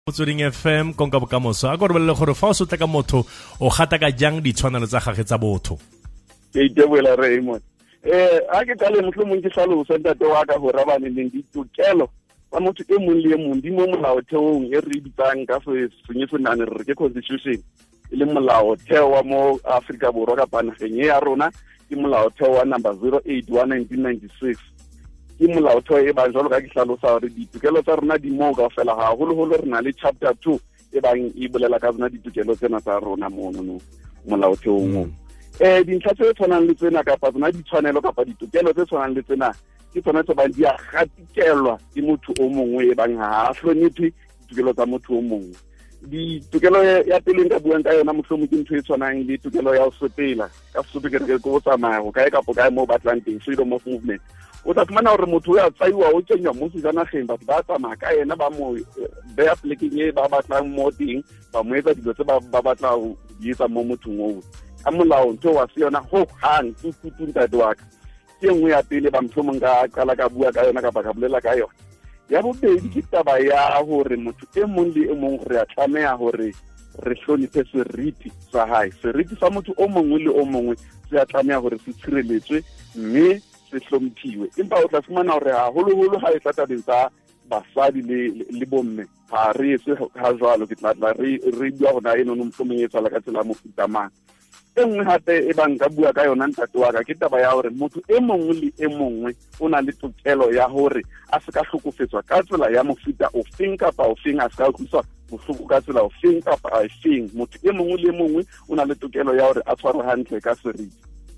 Motsweding FM konka bokamoso a go re bolele gore fa o sotla ka motho o gata ka jang ditshwanelo tsa gagwe tsa botho. Ke itebola Raymond. A ke tale mohlomong ke hlalosa ntate wa ka hore ba neng ditokelo tsa motho e mong le e mong di mo molaotheong e re bitsang ka senyesemane re ke constitution e le molaotheo wa mo Afrika Borwa ka panageng ya rona ke molaotheo wa number 08 wa 1996. Ke molaotheo e bang jalo ka ke hlalosa hore ditokelo tsa rona di mo ka fela haholo re na le chapter 2 e bang e bolela ka tsona ditokelo tsena tsa rona mono molaotheong. Dintlha tse tshwanang le tsena kapa tsona ditshwanelo kapa ditokelo tse tshwanang le tsena ke tsona tse bang di a gatikelwa ke motho o mongwe e bang ha a hloniphe ditokelo tsa motho o mongwe. Ditokelo ya pele nka buang ka yona mohlomong ke ntho e tshwanang le tokelo ya ho sepela ka Sesotho ke re go tsamaya go kae kapo kae mo batlang teng, freedom of movement. O tla fumana hore motho ya tsaiwa o kenywa mo sejanageng batho ba tsamaya ka yena ba mo beya plekeng e ba batlang mo teng ba mo etsa dilo tse ba batla ho di etsa mo mothong oo. Ka molao ntho wa se yona ho hang tutu ntate wa ka ke nngwe ya pele ba mohlomong ka qala ka bua ka yona kapa ka bolela ka yona. Ya bobedi ke taba ya hore motho e mong le e mong re a tlameha hore re hloniphe seriti sa hae. Seriti sa motho o mongwe le o mongwe se a tlameha hore se tshireletswe mme se hlomphiwe. Empa o tla fumana hore haholo ha e tla tabeng tsa basadi le bomme ha re se ha jwalo ke tla re bua hona eno no mohlomong e tsala ka tsela mo futamang. E nngwe hape e bang ka bua ka yona ntate wa ka ke taba ya hore motho e mongwe le e mongwe o na le tokelo ya hore a se ka hlokofetswa ka tsela ya mofuta ofeng kapa ofeng, a se ka utlwiswa bohloko ka tsela ofeng kapa ofeng. Motho e mongwe le e mongwe o na le tokelo ya hore a tshwarwe hantle ka seriti.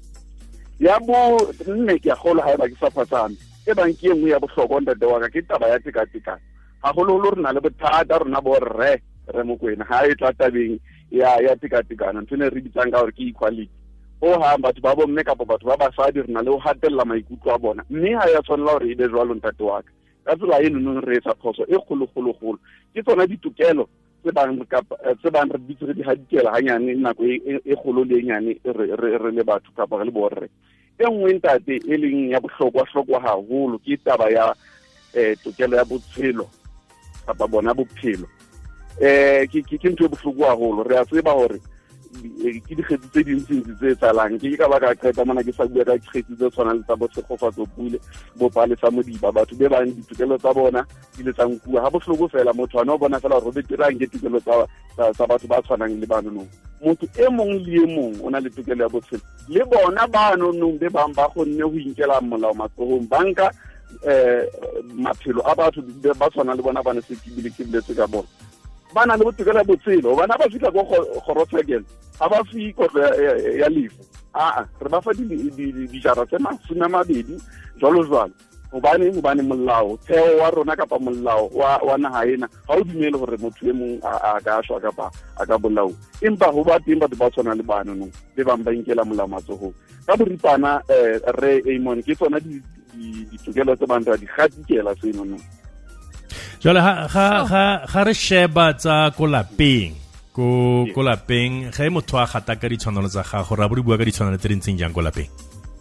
Ya bo nne ke a kgolwa haeba ke sa phatsame e bang ke nngwe ya bohlokwa ntate wa ka ke taba ya tekatekano. Haholo re na le bothata rona bo re Mokwena ha e tla tabeng ya tekatekano ntho ne re bitsang ka hore ke equality. Ha batho ba bomme kapa batho ba basadi re na le ho hatella maikutlo a bona, mme ha ya tshwanela hore e be jwalo ntate wa ka. Ka tsela eno no re etsa phoso e kgolo ke tsona ditokelo tse bang re bitse re di hadikela hanyane nako e kgolo le nyane re le batho kapa re le borre. E nngwe ntate e leng ya bohlokwa haholo ke taba ya tokelo ya botshelo kapa bona bophelo. Ke ntho e bohloko haholo. Re a tseba hore ke dikgetsi tse dintsi tse tsalang ke ka baka qeta mona ke sa bua ka dikgetsi tse tshwanang le tsa bosekgofatso pule bo palesa modiba batho be bang ditokelo tsa bona di le tsang kua ha bohloko fela motho ana o bona fela hore be tirang ke tokelo tsa batho ba tshwanang le bano no. Motho e mong le e mong o na le tokelo ya botshelo le bona bano no be bang ba kgonne ho inkela molao matsohong banka maphelo a batho ba tshwanang le bona ba ne se kibiletse ka bona. Ba na le botokelo ya botshelo bana ba fitla go kgorotsekela ha ba fi kotlo ya lefu re ba fa dijara tse 20 jwalo hobane molao theo wa rona kapa molao wa naha ena ha o dumele hore motho e mong a ka shwa kapa a ka bolao. Empa ho ba teng batho ba tshwana le bana no le bang ba inkela molao matsohong ka boripana re Amon ke tsona ditokelo tse bang di kgatikela seno no. Jwale ga re sheba tsa ko lapeng ko lapeng ga motho a gata ka ditshwanelo tsa gago ra bua ka ditshwanelo tse dintseng jang ko lapeng.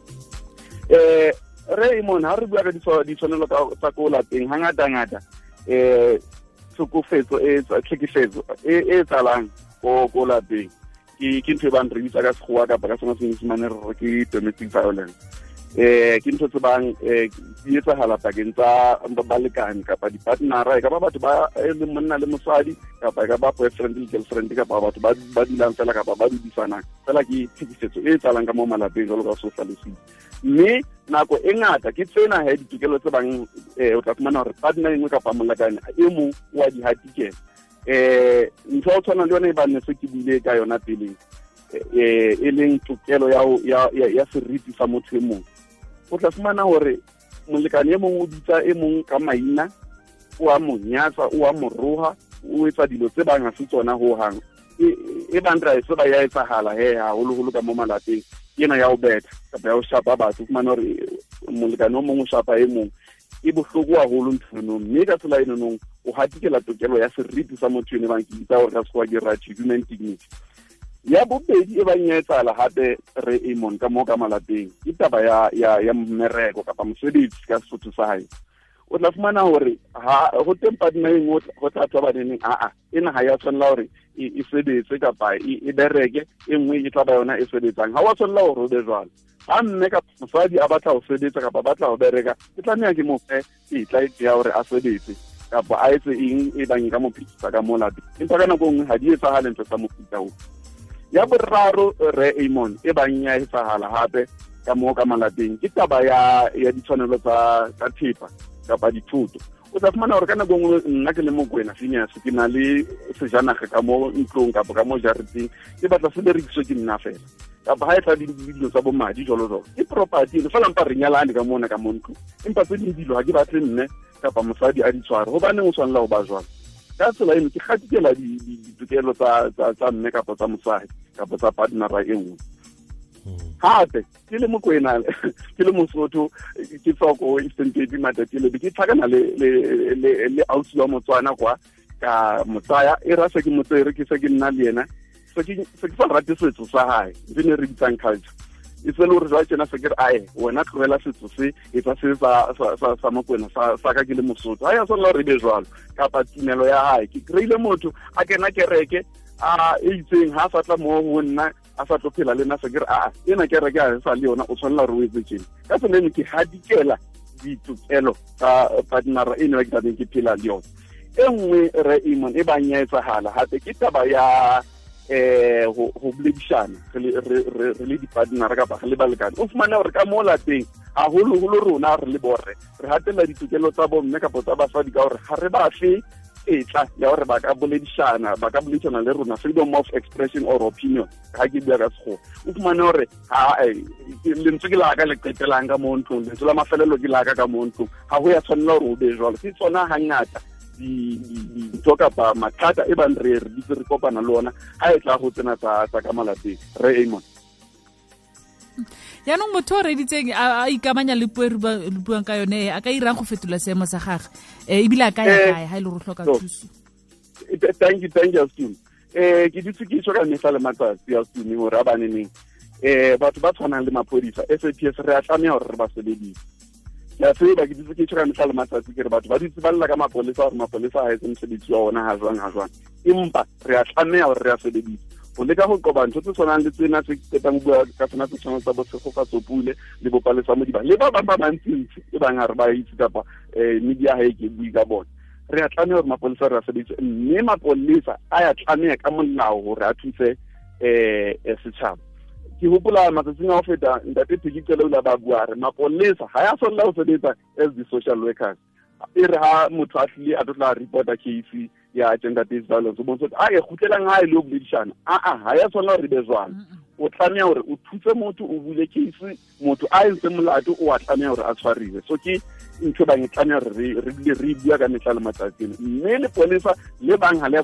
Raymond ha re bua ka ditshwanelo tsa ko lapeng hangata tsokofetso tlhekefetso e tsalang ko lapeng ke ntho e bang re bitsa ka sekgowa kapa ka sona senyesemane re ke domestic violence. Ke ntho tse bang di etsahala pakeng tsa balekane kapa di-partnera e ka ba batho ba le monna le mosadi kapa e ka ba boyfriend le girlfriend kapa batho ba dulang fela kapa ba dudisanang fela ke tlhekefetso e tsalang ka mo malapeng jalo ka social. Mme nako e ngata ke tsena he ditokelo tse bang o tla fumana hore partner engwe kapa molekane e mong wa di hatikela. Ntho o tshwana le yona e bang ne se ke bile ka yona pele e leng tokelo ya seriti sa motho e mong. O tla fumana hore molekane e mong o bitsa e mong ka maina o a mo nyatsa o a mo roha o etsa dilo tse bang ha se tsona ho hang e bang ra se ba ya etsahala haholo ka mo malapeng ena ya o betha kapa ya o shapa batho fumana hore molekane o mong o shapa e mong e bohloko haholo nthono mme ka tsela eno no o hatikela tokelo ya seriti sa motho ene bang ke bitsa hore ka sekgowa ke right human dignity. Ya bobedi e bang ya etsala hape re ka mo ka malapeng ke taba ya mmereko kapa mosebetsi ka Sesotho sa hae. o tla fumana hore ho teng partner engwe go tla tswa baneneng ena ha ya tshwanela hore e sebetse kapa e bereke e nngwe e tla ba yona e sebetsang ha wa tshwanela hore o be jwalo ha mme ka mosadi a batla ho sebetsa kapa batla ho bereka ke tlameha ke mo fe tetla ya hore a sebetse kapa a etse eng e bang ka mo phitsa ka mo lapeng empa ka nako nngwe ha di etsahale ntho tsa mofuta o ya boraro re Amon e bang ya etsahala hape ka mo ka malapeng ke taba ya ditshwanelo tsa thepa kapa dithuto o tla fumana hore ka nako nngwe nna ke le mokwena Phineas ke na le sejanaga ka mo ntlong kapa ka mo jareteng ke batla se berekiswe ke nna fela kapa ha e tla dilo tsa bo madi jolo ke property le fela mpa re nyalane ka mona ka mo ntlong empa tse dilo ha ke batle mme kapa mosadi a di tshware hobaneng o tshwanela ho ba jwalo ka tsela eno ke gatikela ditokelo tsa mme kapa tsa mosadi kapa tsa partnera e nngwe hape ke le mokwena ke le Mosotho ke tsoko Eastern Cape matatile ke tlhakana le ausi wa Motswana kwa ka motsaya e ra se ke motsere ke se ke nna le yena se ke sa rate setso sa hae ne re bitsang culture e tsela hore jwa tsena se ke re wena tlogela setso se e tsa se sa mokwena sa ka ke le Mosotho ha ya tsela re be jwalo kapa tumelo ya hae ke kreile motho a kena kereke e itseng ha sa tla mo ho nna a sa tlophela le nna se ke re ena kereke a sa le yona o tshwanela re o etse tjena ka tsela ke hadikela ditokelo tsa partnera eno ya ke tabeng ke phela le yona e nngwe re Amon e bang ya etsahala hape ke taba ya ho buledishana re le di-partnera kapa re le balekane o fumana hore ka mo lapeng haholo rona re le borre re hatela ditokelo tsa bomme kapa tsa basadi ka hore ha re ba fe etla ya hore ba ka buledishana le rona freedom of expression or opinion ha ke bua ka sekgowa o fumane hore lentswe ke laka le qetelang ka mo ntlong lentswe la mafelelo ke laka ka mo ntlong ha ho ya tshwanela hore o be jwalo ke tsona hangata dintho kapa mathata e bang re kopana le ona ha e tla go tsena tsa ka malapeng re Amon yaanong motho o reditseng a ikamanya le puo re buang ka yone a ka irang go fetola seemo sa gage ebile a ka ya kae ha ile re hloka thuso thank you Steve ke ditse ke tswa ka mehla le matsatsi ya Steve hore a baneneng batho ba tshwanang le maphodisa SAPS re a tlameha hore re ba sebedise ya tseba ke ditse ke tswa ka mehla le matsatsi ke re batho ba ditse ba lla ka mapolesa hore mapolesa ha etse mosebetsi wa ona ha jwang empa re a tlameha hore re a sebedise o leka go qoba ntho tse tshwanang le tsena tse ketang bua ka tsona tse tshwanang tsa botshegokgatsopule le bopalesa mo diba le ba bang ba bantsintsi e bang re ba itse kapa media ha e ke bui ka bona re a tlameha hore mapolesa re a sebedise mme mapolesa a ya tlameha ka molao hore a thuse setjhaba ke hopola matsatsing a ho feta ntate Phikitselo la ba bua re mapolesa ha ya tshwanela ho sebetsa as the social workers e re ha motho a tlile a tla reporta case ya gender based violence o bontsha a gutlelang ha ile o buledishana ha ya tshwanela re be jwang o tlameha hore o thuse motho o bule case motho a entse molato o a tlameha hore a tshwariwe so ke ntho ba tlameha re bua ka mehla le matsatsi mme le polisa le bang ha le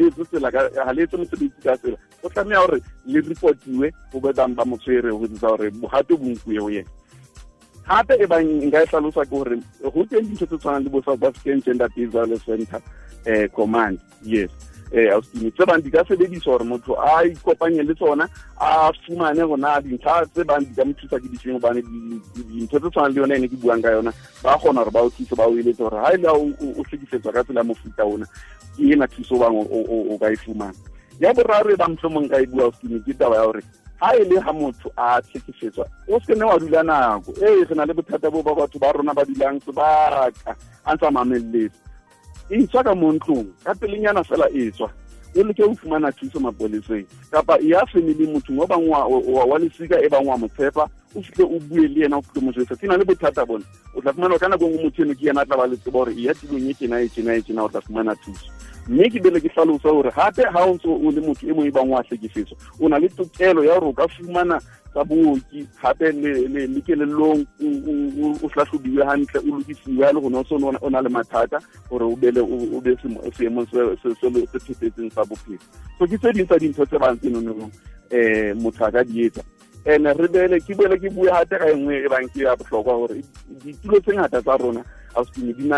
etse mosebetsi ka tsela o tlameha hore le reportiwe ho be bang ba motshwere ho ditsa hore bohato bo nkuwe ho yena hape e bang nka e hlalosa ke hore ho teng dintho tse tshwanang le bo South African Gender Based Violence Center command yes ausini tse bang di ka sebediswa hore motho a ikopanye le tsona a fumane gona dintlha tse bang di ka mothusa ke difeng hobane dintho tse tshwanang le yona ene ke buang ka yona ba kgona hore ba o thuse ba o eletse hore ha ile o hlekisetswa ka tsela mofuta ona ke ena thuso bang o ka e fumana ya boraro e bang mohlomong ka e bua ausini ke taba ya hore ha ile ha motho a tshekisetswa o se ne wa dula nako re na le bothata bo ba batho ba rona ba dilang sebaka a ntsa mamelletse e tswa ka montlong ka pelenyana fela e tswa o leke o fumana thuso mapoleseng kapa ya family motho mo bang wa lesika e bang wa motshepa o fihle o bue le yena o fihle mo jwetsa tsena le bothata bona o tla fumana ka nako ngwe motho eno ke yena tla ba le tsebo hore ya tilong e tjena o tla fumana thuso mme ke bele ke hlalosa hore hape ha o ntso o le motho e mong e bang wa hlekefetswa o na le tokelo ya hore o ka fumana tsa booki hape le kelellong o hlahlobiwe hantle o lokisiwe le gona o na le mathata hore o be seemong se phethetseng sa bophelo so ke tse ding tsa dintho tse bang tseno motho a ka di etsa ene re bele ke bue hate ka engwe e bang ke ya bohlokwa hore ditulo tse ngata tsa rona ausini di na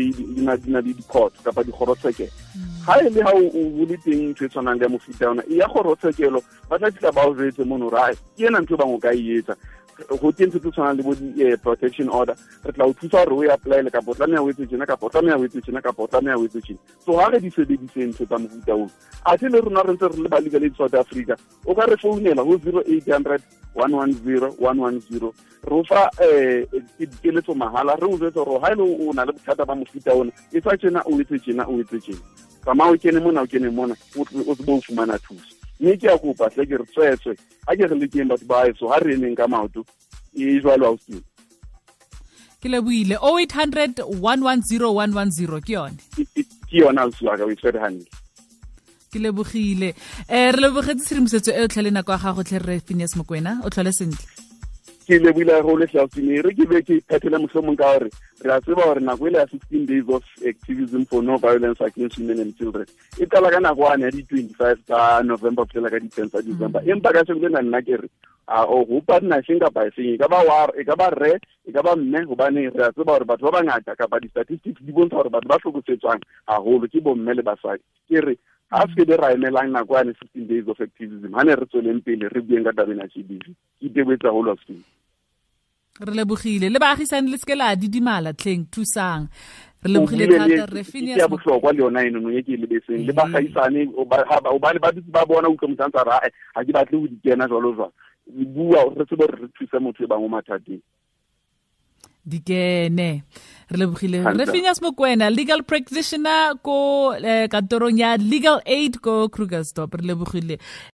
le di-court kapa dikgorotshekelo ha e le ha o le teng ntho e tshwanang le ya mofuta ona e ya kgorotshekelo ba tla tla ba o jwetse mono hore ke ena ntho e bang o ka e etsa go teng se tse tshwanang le bo protection order re tla o thusa gore o e apply le kapo tlameya o etse tjena kapo tlameya o etse tjena kapo tlameya o etse tjena so ga re di sebedise ntho tsa mofuta oo a se le rona re ntse re le ba legal aid South Africa o ka re founela go 0800 110 110 re fa dikeletso mahala re o jwetsa gore ga ile o na le bothata ba mofuta ona e tsa tjena o etse tjena o etse tjena kama o kene mona o se bo fumana thuso mme ke a kopa tle ke re tswetswe a ke re le teng batho ba eso ha re neng ka maoto e jwalo a o ke leboile 0800 110 110 ke yone ke yona o tswa ka o tsere hantle ke lebogile re lebogetse tshedimosetso e o tlhale nako ya gago tle re Phineas Mokoena o tlhole sentle ke lebile go le hlatsini re ke be ke phethela mohlomong ka gore re a tseba gore nako ile ya 16 days of activism for no violence against women and children e qala ka nako ya di 25 tsa November phela ka di 10 tsa December empa ka se le nna ke re o go partnership ka ba se ka ba war e ka ba re e ka ba mme go bane re a tseba gore batho ba bangata ka ba di statistics di bontsha gore batho ba hlokotsetswang haholo ke bo mme le basadi ke re a se de ra emelang nako ya 16 days of activism ha ne re tsweleng pele re bueng ka tabena tshedisi ke tebetsa go lo se re lebogile le baagisane le skela didimala tleng thusang re lebogile thata re Phineas ya bohlokwa le yona eno ye ke le beseng le baagisane o ba le ba bona utlwa motantsa ra ha ke batle ho dikena jwalo jwalo bua re tsebe re thusa motho ba mo mathateng dikene re lebogile re Phineas Mokoena legal practitioner ko kantorong ya Legal Aid ko Krugersdorp re lebogile